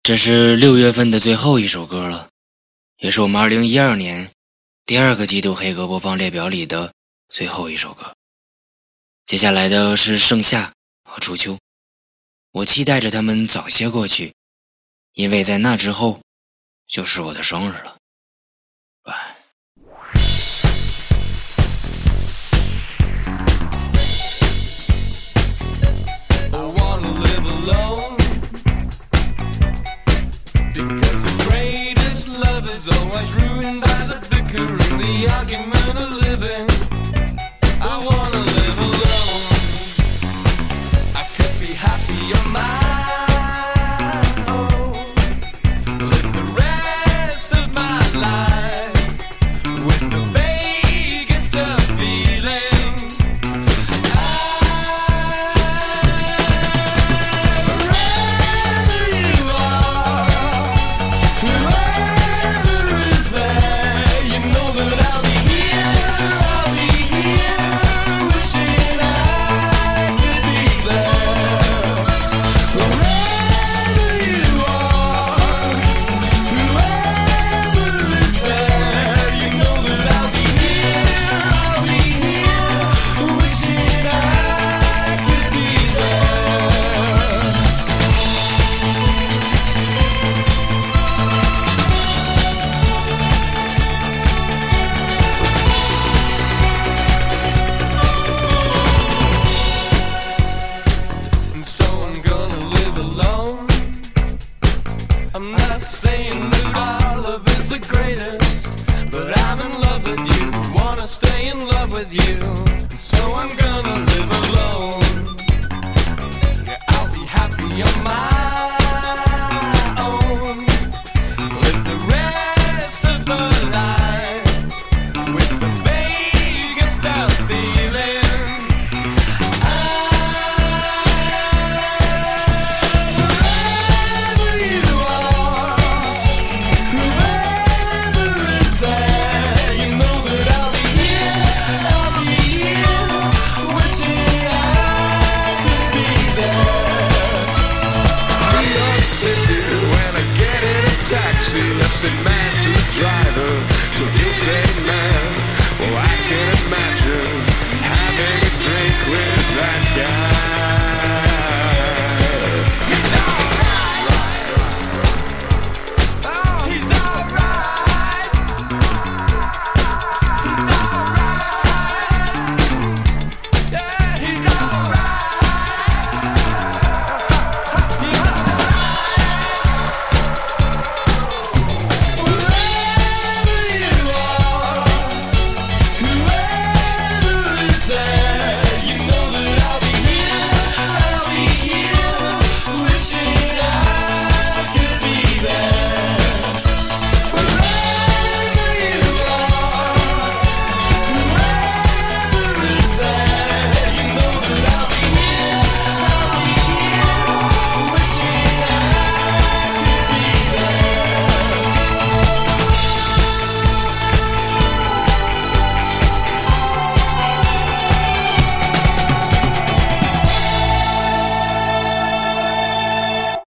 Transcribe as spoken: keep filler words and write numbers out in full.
这是六月份的最后一首歌了，也是我们二零一二年第二个季度黑歌播放列表里的最后一首歌。接下来的是盛夏和初秋，我期待着他们早些过去，因为在那之后就是我的生日了。晚安。 Is always ruined by the bicker and the argument of living. I wanna live alone. I could be happy on my own. Live the rest of my life with the vaguest of feelings. Wherever you are, I'm not saying that our love is the greatest, but I'm in love with you, wanna stay in love with you, so I'm gonna live alone. Yeah, I'll be happy on my own, live the rest of the life with the vaguest of feelings. Taxi, I said, man.